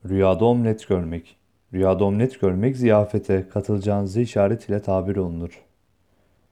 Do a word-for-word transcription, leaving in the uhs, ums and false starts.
Rüyada omlet görmek. Rüyada omlet görmek ziyafete katılacağınızı işaret ile tabir olunur.